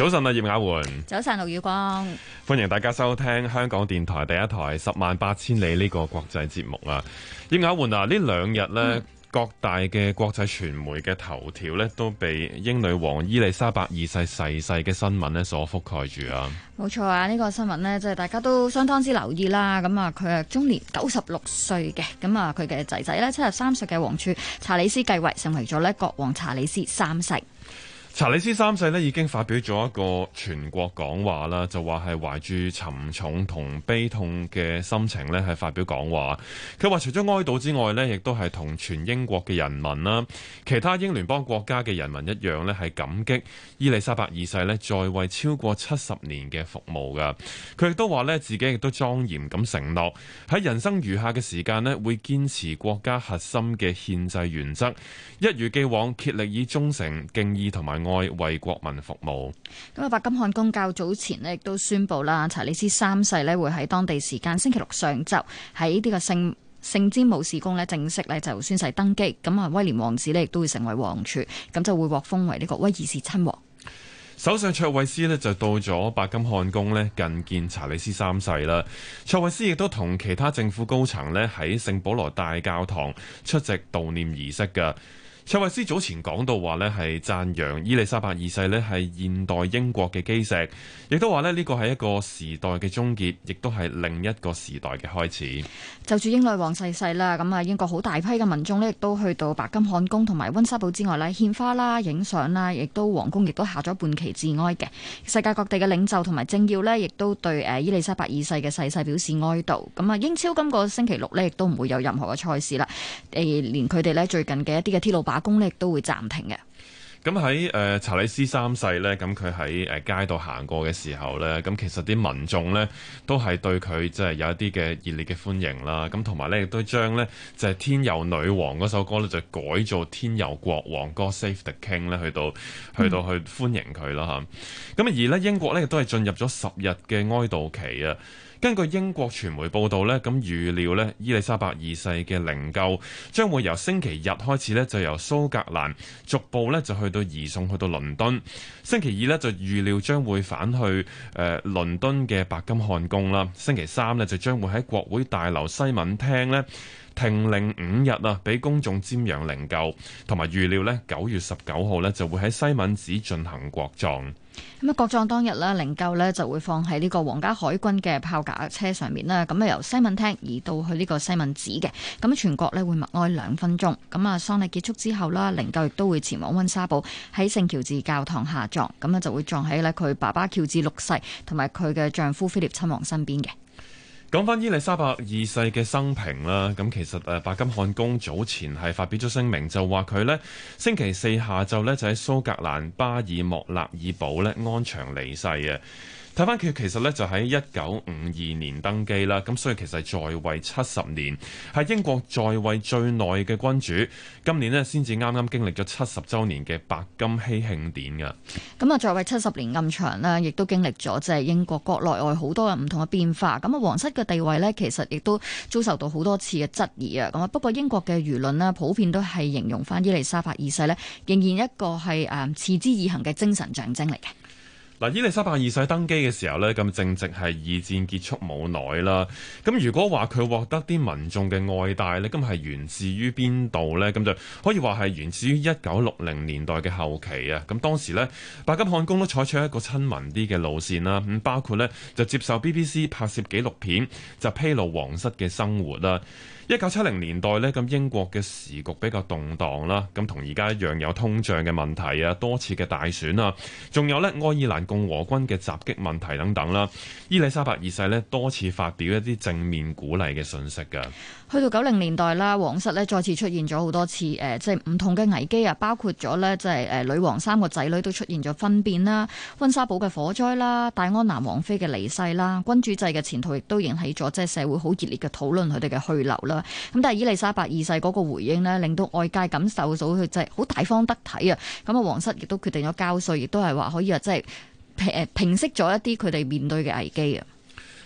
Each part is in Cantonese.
早晨啊，葉雅媛。 早晨，陸宇光。 歡迎大家收聽香港電台第一台十萬八千里呢個國際節目啊。葉雅媛啊，呢兩日呢，各大嘅國際傳媒嘅頭條呢，都被英女王伊麗莎白二世逝世嘅新聞呢所覆蓋住啊。 冇錯啊，呢個新聞呢，即係大家都相當之留意啦。咁啊，佢係終年96歲嘅。咁啊，佢嘅仔仔呢，73歲嘅王儲查理斯繼位，成為咗呢國王查理斯三世。 查理斯三世呢已經發表咗一個全國講話啦，就話係懷住沉重同悲痛嘅心情呢係發表講話。佢話除咗哀悼之外呢，亦都係同全英國嘅人民啦，其他英聯邦國家嘅人民一樣呢，係感激伊麗莎白二世呢在位超過70年嘅服務噶。佢亦都話呢，自己亦都莊嚴咁承諾喺人生餘下嘅時間呢，會堅持國家核心嘅憲制原則，一如既往竭力以忠誠、敬意同埋愛為國民服務。 咁啊，白金漢宮較早前呢亦都宣布啦，查理斯三世呢會喺當地時間星期六上晝喺呢個聖詹姆士宮呢正式呢就宣誓登基。咁啊，威廉王子呢亦都會成為王儲，咁就會獲封為呢個威爾士親王。 首相卓慧思呢就到咗白金漢宮呢覲見查理斯三世啦。卓慧思亦都同其他政府高層呢喺聖保羅大教堂出席悼念儀式㗎。卓慧思早前講到話呢係讚揚伊麗莎白二世呢係現代英國嘅基石，亦都話呢呢個係一個時代嘅終結，亦都係另一個時代嘅開始。 就住英女王逝世啦，咁啊英國好大批嘅民眾呢亦都去到白金漢宮同埋溫莎堡之外呢獻花啦、影相啦，亦都皇宮亦都下咗半旗致哀嘅。世界各地嘅領袖同埋政要呢亦都對伊麗莎白二世嘅逝世表示哀悼。咁啊，英超今個星期六呢亦都唔會有任何嘅賽事啦，連佢哋呢最近嘅一啲嘅鐵路罷工呢亦都會暫停嘅。 咁喺查理斯三世呢，咁佢喺街度行過嘅時候呢，咁其實啲民眾呢都係對佢即係有一啲嘅熱烈嘅歡迎啦。咁同埋呢亦都將呢就係天佑女王嗰首歌呢就改做天佑國王God Save the King 呢去到去歡迎佢啦嚇。咁而呢英國呢亦都係進入咗10日嘅哀悼期啊。根據英國傳媒報道呢，咁預料呢伊麗莎白二世嘅靈柩將會由星期日開始呢就由蘇格蘭逐步呢就去到移送去到倫敦。星期二呢就預料將會返去倫敦嘅白金漢宮啦。星期三呢就將會喺國會大樓西敏廳呢停靈5日啊，俾公眾瞻仰靈柩，同埋預料呢9月19號呢就會喺西敏寺進行國葬。 咁啊，國葬當日咧，靈柩咧就會放喺呢個皇家海軍嘅炮架車上面啦。咁啊，由西敏廳移到去呢個西敏寺嘅。咁全國咧會默哀2分鐘。咁啊，喪禮結束之後啦，靈柩亦都會前往溫莎堡喺聖喬治教堂下葬。咁啊，就會葬喺咧佢爸爸喬治6世同埋佢嘅丈夫菲臘親王身邊嘅。 講翻伊麗莎白二世嘅生平啦，咁其實白金漢宮早前係發表咗聲明，就話佢呢星期四下晝呢就喺蘇格蘭巴爾莫勒爾堡呢安詳離世嘅。睇翻佢其實呢就喺1952年登基啦，咁所以其實在位70年，係英國在位最耐嘅君主。今年呢先至啱啱經歷咗70週年嘅白金禧慶典㗎。 咁啊，在位70年咁長啦，亦都經歷咗即係英國國內外好多嘅唔同嘅變化。咁啊，皇室嘅地位呢，其實亦都遭受到好多次嘅質疑啊。咁啊，不過英國嘅輿論呢，普遍都係形容翻伊麗莎白二世呢，仍然一個係持之以恆嘅精神象徵嚟嘅。 嗱，伊麗莎白二世登基嘅時候呢，咁正值係2戰結束冇耐啦。咁如果話佢獲得啲民眾嘅愛戴呢，咁係源自於邊度呢？咁就可以話係源自於1960年代嘅後期啊。咁當時呢，白金漢宮都採取一個親民啲嘅路線啦。咁包括呢，就接受 BBC 拍攝紀錄片，就披露皇室嘅生活啦。1970年代呢，咁英國嘅時局比較動盪啦，咁同而家一樣有通脹嘅問題啊，多次嘅大選啊，仲有呢愛爾蘭共和軍嘅襲擊問題等等啦。伊麗莎白二世呢多次發表一啲正面鼓勵嘅訊息㗎。 去到90年代啦，皇室呢再次出現咗好多次即係唔同嘅危機啊，包括咗呢即係女王3個仔女都出現咗婚變啦，溫莎堡嘅火災啦，戴安娜王妃嘅離世啦，君主制嘅前途亦都引起咗即係社會好熱烈嘅討論佢哋嘅去留啦。咁但係伊麗莎白二世嗰個回應呢，令到外界感受到佢就係好大方得體啊！咁啊，皇室亦都決定咗交稅，亦都係話可以即係平息咗一啲佢哋面對嘅危機啊！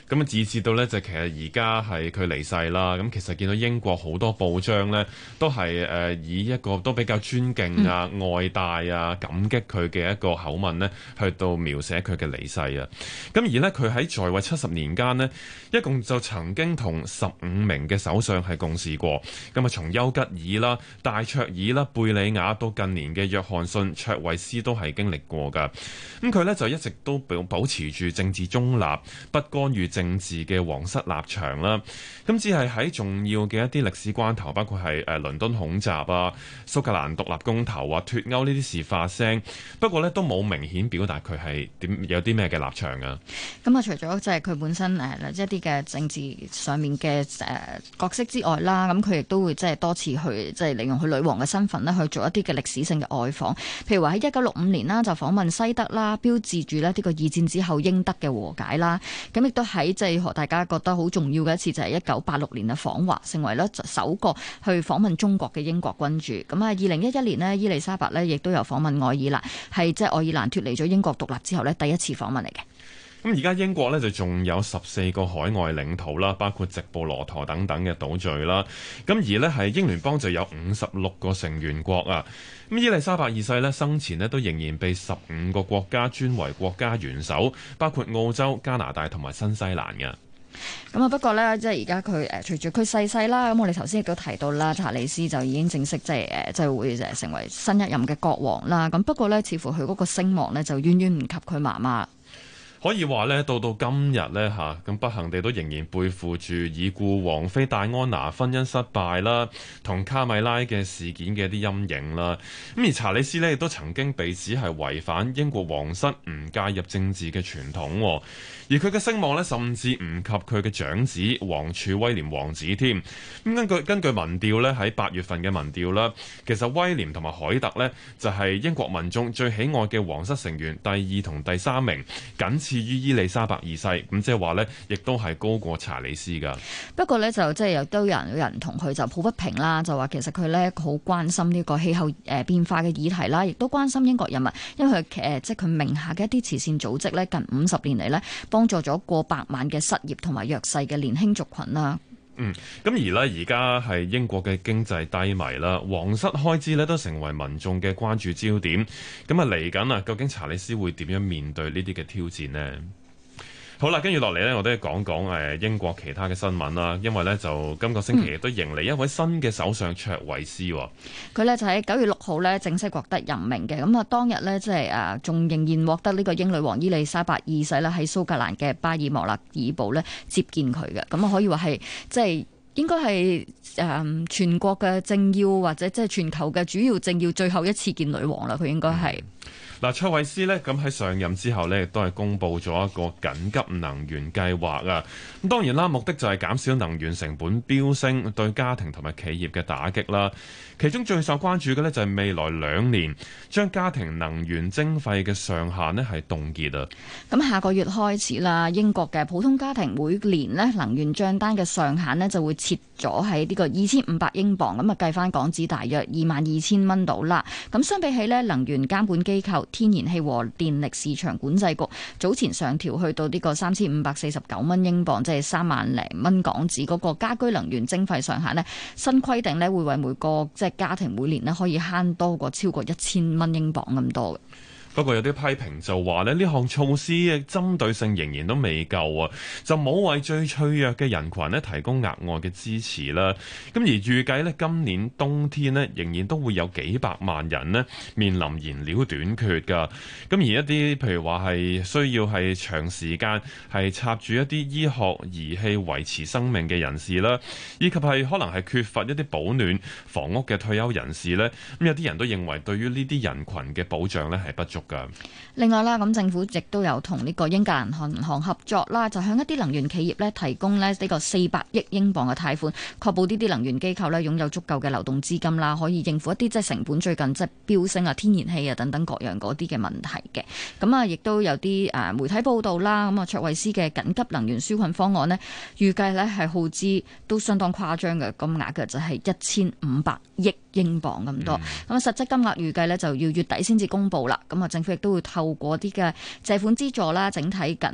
咁啊，以至到呢，就其實而家係佢離世啦。咁其實見到英國好多報章呢，都係以一個都比較尊敬啊、愛戴啊、感激佢嘅一個口吻呢，去到描寫佢嘅離世啊。咁而呢，佢喺在位70年間呢，一共就曾經同15名嘅首相係共事過。咁啊，從丘吉爾啦、戴卓爾啦、貝理雅到近年嘅約翰遜、卓慧思都係經歷過㗎。咁佢呢，就一直都保持住政治中立、不干預政治嘅皇室立場啦。咁只係喺重要嘅一啲歷史關頭，包括係倫敦恐襲啊、蘇格蘭獨立公投啊、脫歐呢啲事發聲。不過呢，都冇明顯表達佢係有啲咩嘅立場啊。 咁啊，除咗即係佢本身一啲嘅政治上面嘅角色之外啦，咁佢亦都會即係多次去即係利用佢女王嘅身份呢去做一啲嘅歷史性嘅外訪。譬如話喺1965年啦，就訪問西德啦，標誌住呢個二戰之後英德嘅和解啦。咁亦都喺即係大家覺得好重要嘅一次，就係1986年嘅訪華，成為咧首個去訪問中國嘅英國君主。咁啊，2011年呢，伊麗莎白呢亦都有訪問愛爾蘭，係即係愛爾蘭脫離咗英國獨立之後呢第一次訪問嚟嘅。 咁而家英國呢，就仲有14個海外領土啦，包括直布羅陀等等嘅島嶼啦。咁而呢，係英聯邦就有56個成員國啊。咁伊麗莎白二世呢，生前呢都仍然被15個國家尊為國家元首，包括澳洲、加拿大同埋新西蘭嘅。 咁啊，不過呢，即係而家佢隨住佢逝世啦，咁我哋頭先亦都提到啦，查理斯就已經正式即係會成為新一任嘅國王啦。咁不過呢，似乎佢嗰個聲望呢，就遠遠唔及佢媽媽。 可以話咧，到今日咧嚇，咁不幸地都仍然背負住已故王妃戴安娜婚姻失敗啦，同卡米拉嘅事件嘅一啲陰影啦。咁而查理斯呢，亦都曾經被指係違反英國皇室唔介入政治嘅傳統，而佢嘅聲望呢，甚至唔及佢嘅長子王儲威廉王子添。咁根據民調呢，喺8月份嘅民調啦，其實威廉同埋凱特呢，就係英國民眾最喜愛嘅皇室成員，第2同第3名，僅次於伊麗莎白二世。咁即係話呢，亦都係高過查理斯噶。 不過呢，就即係有都有人同佢就抱不平啦，就話其實佢呢好關心呢個氣候變化嘅議題啦，亦都關心英國人民，因為佢即係佢名下嘅一啲慈善組織呢，近50年嚟呢，幫助咗過百萬嘅失業同埋弱勢嘅年輕族群啦。 咁而呢，而家係英國嘅經濟低迷啦，皇室開支呢都成為民眾嘅關注焦點。咁啊嚟緊啊，究竟查理斯會點樣面對呢啲嘅挑戰呢？好啦，跟住落嚟呢，我都講講英國其他嘅新聞啦。因為呢，就今個星期亦都迎嚟一位新嘅首相卓慧思。 佢呢就喺9月6號呢正式獲得任命嘅。咁啊，當日呢，即係仲仍然獲得呢個英女王伊麗莎白二世呢喺蘇格蘭嘅巴爾莫勒爾堡呢接見佢嘅。咁啊，可以話係即係應該係全國嘅政要或者即係全球嘅主要政要最後一次見女王啦。佢應該係。 嗱，卓慧思呢，咁喺上任之後呢，亦都係公布咗一個緊急能源計劃啊。咁當然啦，目的就係減少能源成本飆升對家庭同埋企業嘅打擊啦。其中最受關注嘅呢，就係未來2年將家庭能源徵費嘅上限呢係凍結啊。 咁下個月開始啦，英國嘅普通家庭每年呢能源帳單嘅上限呢就會設咗喺呢個2500英鎊，咁啊計翻港紙大約22,000蚊到啦。咁相比起呢，能源監管機構天然氣和電力市場管制局早前上調去到呢個3549蚊英鎊，即係3萬零蚊港紙嗰個家居能源徵費上限呢，新規定呢會為每個即係家庭每年呢可以慳多過超過1000蚊英鎊咁多嘅。 不過有啲批評就話呢項措施嘅針對性仍然都未夠啊，就冇為最脆弱嘅人群呢提供額外嘅支持啦。咁而預計呢今年冬天呢仍然都會有幾百萬人呢面臨燃料短缺㗎。咁而一啲譬如話係需要係長時間係插住一啲醫學儀器維持生命嘅人士啦，以及係可能係缺乏一啲保暖房屋嘅退休人士呢，咁有啲人都認為對於呢啲人群嘅保障呢係不足。 另外啦，咁政府亦都有同呢個英格蘭銀行合作啦，就向一啲能源企業咧提供呢個400億英鎊嘅貸款，確保呢啲能源機構咧擁有足夠嘅流動資金啦，可以應付一啲即係成本最近即係飆升啊、天然氣啊等等各樣嗰啲嘅問題嘅。咁啊，亦都有啲媒體報道啦，咁啊卓慧思嘅緊急能源紓困方案呢，預計咧係耗資都相當誇張嘅金額嘅，就係1500億英鎊咁多。咁啊，實際金額預計咧就要月底先至公佈啦。咁啊，政府亦都會透過啲嘅借款資助啦，整體緊急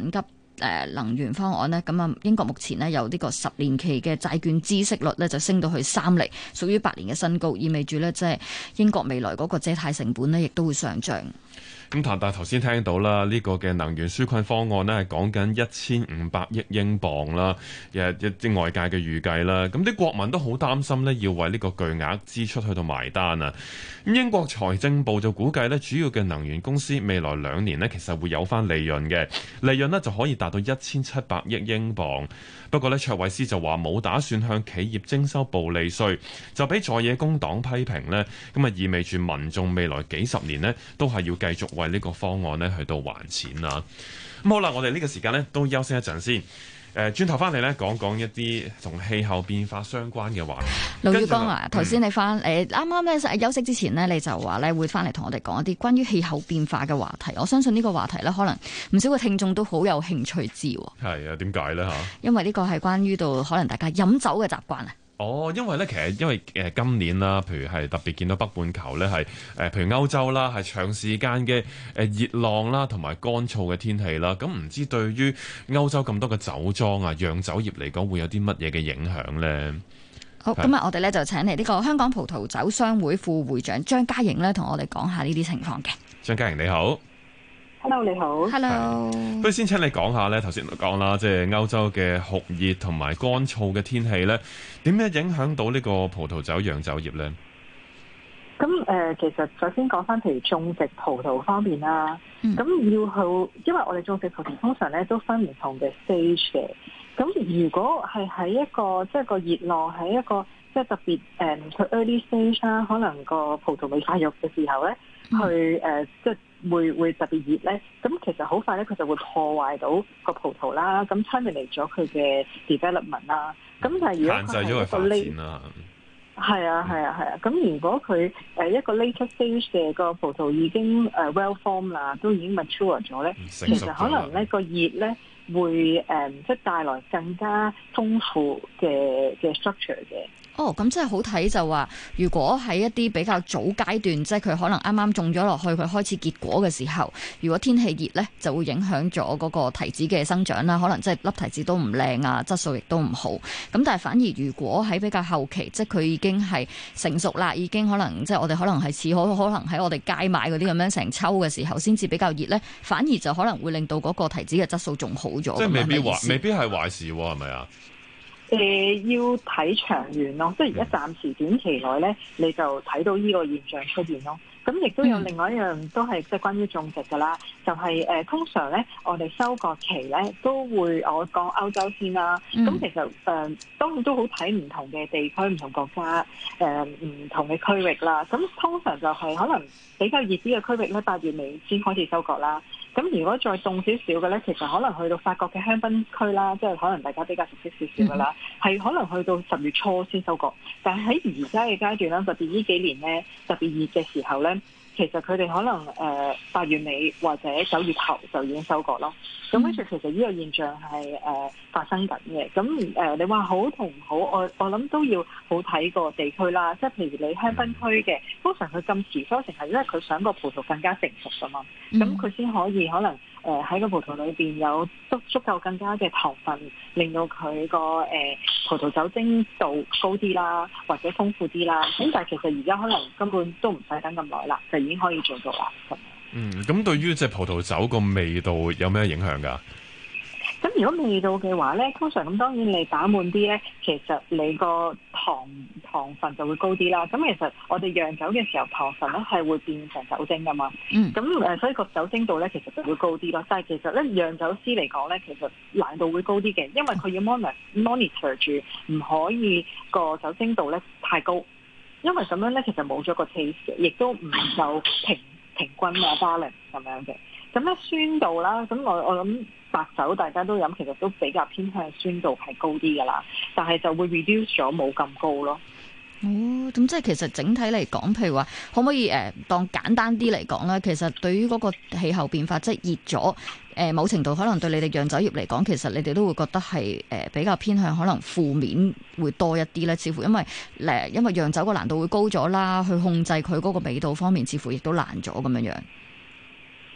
能源方案呢，咁啊英國目前呢有呢個10年期嘅債券孳息率呢，就升到去3厘，屬於8年嘅新高，意味住呢，即係英國未來嗰個借貸成本呢，亦都會上漲。 咁但係頭先聽到啦，呢個嘅能源紓困方案呢係講緊1500億英鎊啦，一啲外界嘅預計啦。咁啲國民都好擔心呢，要為呢個巨額支出去到埋單啊。咁英國財政部就估計呢，主要嘅能源公司未來2年呢，其實會有翻利潤嘅，利潤呢就可以達到1700億英鎊。不過呢，卓慧思就話冇打算向企業徵收暴利稅，就俾在野工黨批評呢，咁啊意味住民眾未來幾十年呢，都係要繼續為呢個方案呢去到還錢啊。咁好啦，我哋呢個時間呢都休息一陣先。轉頭翻嚟呢，講講一啲同氣候變化相關嘅話題。 盧宇光啊，頭先你翻啱啱咧休息之前呢，你就話咧會翻嚟同我哋講一啲關於氣候變化嘅話題。我相信呢個話題呢，可能唔少嘅聽眾都好有興趣知。 係啊，點解呢？ 因為呢個係關於到可能大家飲酒嘅習慣啊。 因為咧，其實因為今年啦，譬如係特別見到北半球咧，係譬如歐洲啦，係長時間嘅熱浪啦，同埋乾燥嘅天氣啦。咁唔知對於歐洲咁多嘅酒莊啊、釀酒業嚟講，會有啲乜嘢嘅影響咧？ 好，今日我哋咧就請嚟呢個香港葡萄酒商會副會長張嘉瑩咧，同我哋講下呢啲情況嘅。 張嘉瑩你好。 Hello， 你好。 Hello。 不如先請你講下咧，頭先講啦，即係歐洲嘅酷熱同埋乾燥嘅天氣咧，點樣影響到呢個葡萄酒釀酒業咧？ 咁其實首先講翻譬如種植葡萄方面啦，咁要去，因為我哋種植葡萄通常咧都分唔同嘅 stage 嘅。咁如果係喺一個即係個熱浪喺一個即係特別佢 early stage 啦，可能個葡萄未發育嘅時候咧，去即係會特別熱咧，咁其實好快咧佢就會破壞到個葡萄啦，咁 terminate 咗佢嘅 development 啦。咁但係如果佢係一個 late 係啊，咁如果佢一個 later stage 嘅個葡萄已經well formed 啦，都已經 mature 咗咧，其實可能咧個熱咧會即係帶來更加豐富嘅 structure 嘅。 咁即係好睇就話，如果喺一啲比較早階段，即係佢可能啱啱種咗落去，佢開始結果嘅時候，如果天氣熱呢，就會影響咗嗰個提子嘅生長啦。可能即係粒提子都唔靚啊，質素亦都唔好。咁但係反而如果喺比較後期，即係佢已經係成熟啦，已經可能即係我哋可能係似可能喺我哋街買嗰啲咁樣成抽嘅時候，先至比較熱呢，反而就可能會令到嗰個提子嘅質素仲好咗。 即係未必係壞事喎，係咪啊？ 要睇長遠咯，即係而家暫時短期內咧，你就睇到呢個現象出現咯。咁亦都有另外一樣都係即係關於種植㗎啦，就係通常咧，我哋收割期咧都會我講歐洲先啦。咁其實當然都好睇唔同嘅地區、唔同國家、唔同嘅區域啦。咁通常就係可能比較熱啲嘅區域咧，8月尾先開始收割啦。咁如果再凍少少嘅咧，其實可能去到法國嘅香檳區啦，即係可能大家比較熟悉少少嘅啦，係可能去到10月初先收割。但係喺而家嘅階段啦，特別呢幾年咧特別熱嘅時候咧，其實佢哋可能8月尾或者9月頭就已經收割咯。咁跟住其實呢個現象係發生緊嘅。咁你話好同唔好，我諗都要好睇個地區啦。即係譬如你香檳區嘅，通常佢咁遲收成係因為佢想個葡萄更加成熟㗎嘛。咁佢先可以可能喺個葡萄裏邊有足夠更加嘅糖分，令到佢個葡萄酒精度高啲啦，或者豐富啲啦。咁但係其實而家可能根本都唔使等咁耐啦，就已經可以做到啦。 咁對於隻葡萄酒個味道有咩影響㗎？ 咁如果味道嘅話咧，通常咁當然你打滿啲咧，其實你個糖分就會高啲啦。咁其實我哋釀酒嘅時候，糖分咧係會變成酒精噶嘛。咁所以個酒精度咧其實就會高啲咯。但係其實咧釀酒師嚟講咧，其實難度會高啲嘅，因為佢要 monitor 住，唔可以個酒精度咧太高，因為咁樣咧其實冇咗個 taste 嘅，亦都唔夠平均啊 balance 咁樣嘅。咁咧酸度啦，咁我諗白酒大家都飲，其實都比較偏向酸度係高啲噶啦，但係就會 reduce 咗冇咁高咯。 咁即係其實整體嚟講，譬如話可唔可以當簡單啲嚟講咧？其實對於嗰個氣候變化，即係熱咗，某程度可能對你哋釀酒業嚟講，其實你哋都會覺得係比較偏向可能負面會多一啲咧。似乎因為釀酒個難度會高咗啦，去控制佢嗰個味道方面，似乎亦都難咗咁樣樣。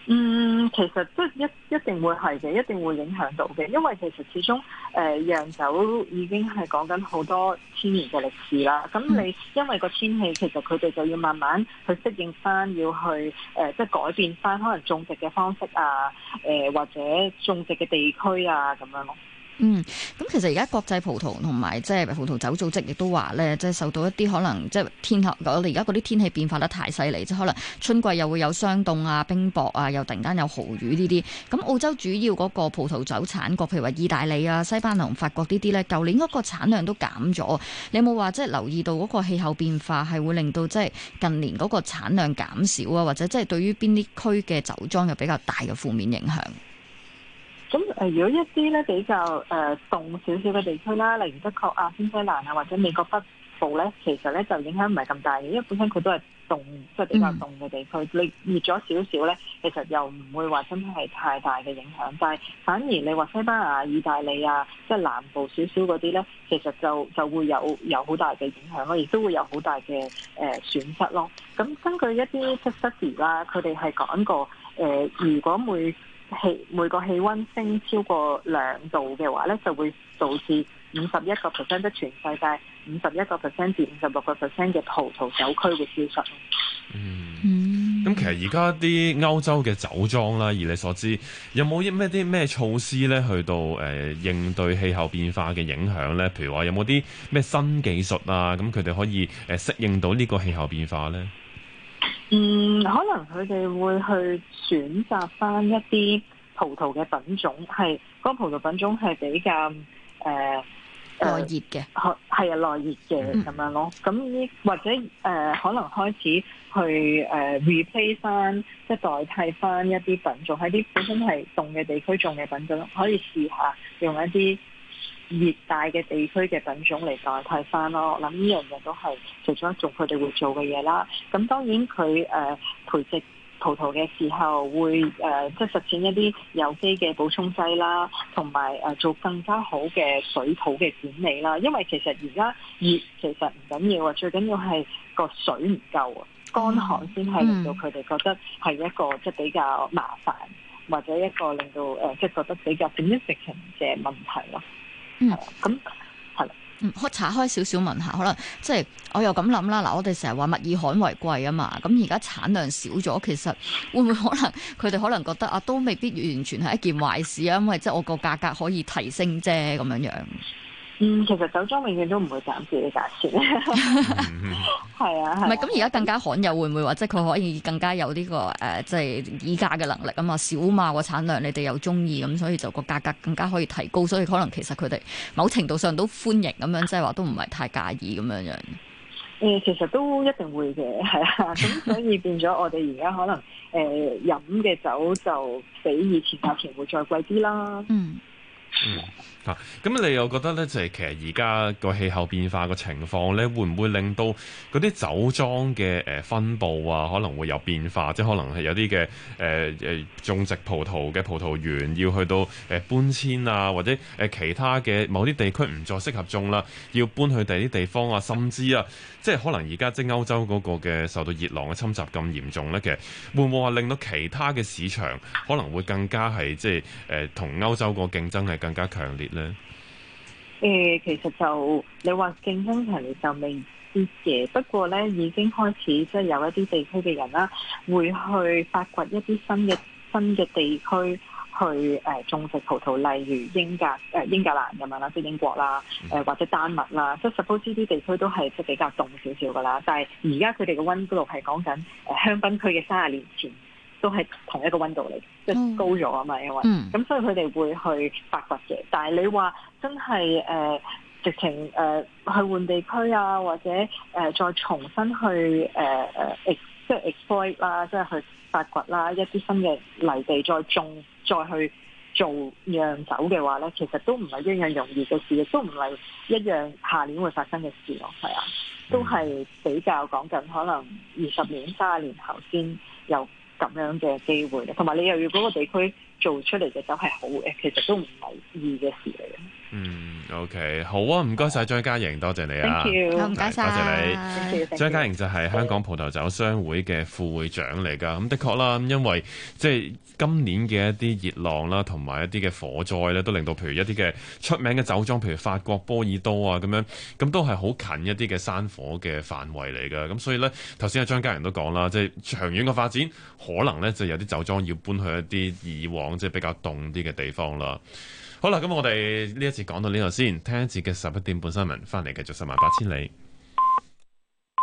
其實即係一定會係嘅，一定會影響到嘅，因為其實始終釀酒已經係講緊好多千年嘅歷史啦。咁你因為個天氣，其實佢哋就要慢慢去適應翻，要去即係改變翻可能種植嘅方式啊，或者種植嘅地區啊咁樣咯。 咁其實而家國際葡萄同埋即係葡萄酒組織亦都話咧，即係受到一啲可能即係我哋而家嗰啲天氣變化得太犀利，即係可能春季又會有霜凍啊、冰雹啊，又突然間有豪雨呢啲。咁澳洲主要嗰個葡萄酒產國，譬如話意大利啊、西班牙同法國呢啲咧，舊年嗰個產量都減咗。你有冇話即係留意到嗰個氣候變化係會令到即係近年嗰個產量減少啊，或者即係對於邊啲區嘅酒莊有比較大嘅負面影響？ 咁如果一啲咧比較凍少少嘅地區啦，例如德國啊、新西蘭啊或者美國北部咧，其實咧就影響唔係咁大嘅，因為本身佢都係凍，即係比較凍嘅地區。你熱咗少少咧，其實又唔會話真係太大嘅影響。但係反而你話西班牙、意大利啊，即係南部少少嗰啲咧，其實就會有好大嘅影響咯，亦都會有好大嘅損失咯。咁根據一啲即係 study 啦，佢哋係講過如果每個氣溫升超過2度嘅話咧，就會導致51%，即係全世界51%至56%嘅葡萄酒區會消失。 咁其實而家啲歐洲嘅酒莊啦，以你所知，有冇啲咩措施咧，去到應對氣候變化嘅影響咧？譬如話有冇啲咩新技術啊？咁佢哋可以適應到呢個氣候變化咧？ 可能佢哋會去選擇翻一啲葡萄嘅品種，係嗰個葡萄品種係比較耐熱嘅， 係耐熱嘅咁樣咯。咁或者可能開始去replace 翻，即係代替翻一啲品種喺啲本身係凍嘅地區種嘅品種，可以試下用一啲熱帶嘅地區嘅品種嚟代替翻咯。我諗呢樣嘢都係其中一種佢哋會做嘅嘢啦。咁當然佢培植葡萄嘅時候會即係實踐一啲有機嘅補充劑啦，同埋做更加好嘅水土嘅管理啦。因為其實而家熱其實唔緊要啊，最緊要係個水唔夠啊，乾旱先係令到佢哋覺得係一個即係比較麻煩，或者一個令到即係覺得比較significant嘅問題咯。咁係啦。 可拆開少少問下，可能即係我又咁諗啦。嗱，我哋成日話物以罕為貴啊嘛，咁而家產量少咗，其實會唔會可能佢哋可能覺得啊，都未必完全係一件壞事啊，因為即係我個價格可以提升啫咁樣樣。 其實酒莊永遠都唔會減自己價錢，係啊， 唔係咁而家更加罕有，會唔會話即係佢可以更加有呢個即係議價嘅能力啊嘛？少嘛個產量，你哋又中意咁，所以就個價格更加可以提高，所以可能其實佢哋某程度上都歡迎咁樣，即係話都唔係太介意咁樣樣。 其實都一定會嘅，係啊，咁所以變咗我哋而家可能飲嘅酒就比以前價錢會再貴啲啦。 咁你又覺得咧，就係其實而家個氣候變化個情況咧，會唔會令到嗰啲酒莊嘅分佈啊，可能會有變化？即係可能係有啲嘅種植葡萄嘅葡萄園要去到搬遷啊，或者其他嘅某啲地區唔再適合種啦，要搬去第啲地方啊，甚至啊，即係可能而家即係歐洲嗰個嘅受到熱浪嘅侵襲咁嚴重咧，其實會唔會話令到其他嘅市場可能會更加係即係同歐洲個競爭係更加強烈咧？ 其實就你話競爭強烈就未知嘅，不過咧已經開始即係有一啲地區嘅人啦，會去發掘一啲新嘅地區去種植葡萄，例如英格蘭咁樣啦，即係英國啦，或者丹麥啦，即係 suppose 呢啲地區都係即係比較凍少少噶啦，但係而家佢哋嘅溫度係講緊香檳區嘅30年前。都係同一個溫度嚟，即係高咗啊嘛，因為咁所以佢哋會去發掘嘅。但係你話真係直情去換地區啊，或者再重新去即係 exploit 啦，即係去發掘啦一啲新嘅泥地再種，再去做釀酒嘅話咧，其實都唔係一樣容易嘅事，亦都唔係一樣下年會發生嘅事咯。係啊，都係比較講緊可能20年、30年後先有咁樣嘅機會咧，同埋你又要嗰個地區做出嚟嘅酒係好嘅，其實都唔係易嘅事嚟嘅。 OK， 好啊，唔該晒張嘉瑩，多謝你啊。 Thank you， 好，唔該晒， 多謝你。 Thank you， 張嘉瑩就係香港葡萄酒商會嘅副會長嚟㗎。咁的確啦，因為即係今年嘅一啲熱浪啦，同埋一啲嘅火災咧，都令到譬如一啲嘅出名嘅酒莊，譬如法國波爾多啊咁樣，咁都係好近一啲嘅山火嘅範圍嚟㗎。咁所以咧，頭先阿張嘉瑩都講啦，即係長遠嘅發展，可能咧就有啲酒莊要搬去一啲以往即係比較凍啲嘅地方啦。好啦，咁我哋呢一節講到呢度先，聽一節嘅11點半新聞，翻嚟繼續十萬八千里。